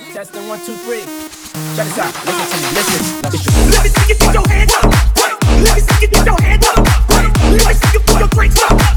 Testing 1, 2, 3. Check this out. Listen to me. Listen. Let me see you get your hands up. Let me see you get your hands up. Let me see you put your drinks up.